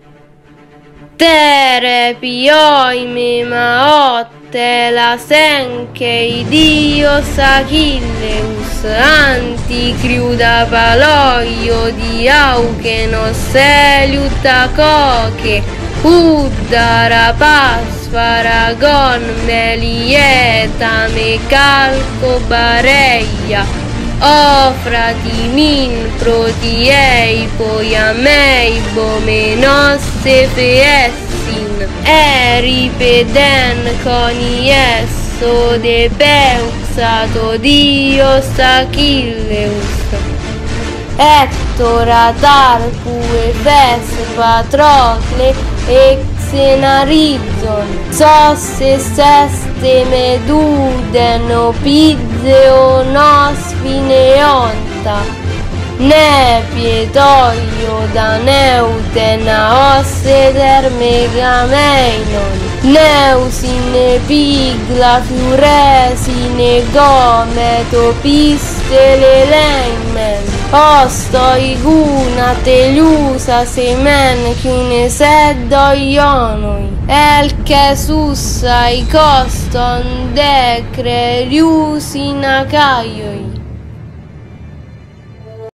Tere pioi me maotte la senche Dio Sachilleus anti criuda paloio di auche nosseliuta coche uddara pasfaragon melieta me calco bareia ofrati min protiei poi a mei bome nosse feessin ripeden coniesso de peuxato Dio Sachilleus Hectora Tarcue fes Patrocle exenarizzon sosse seste meduden opidzeo nos fineonta ne pietoio da neutena osse termegameinon neus in pigla fiuresine gometo pistele leimen osto iguna teliusa semen chiune seddo ionui el che sussa i coston decre liusina caioi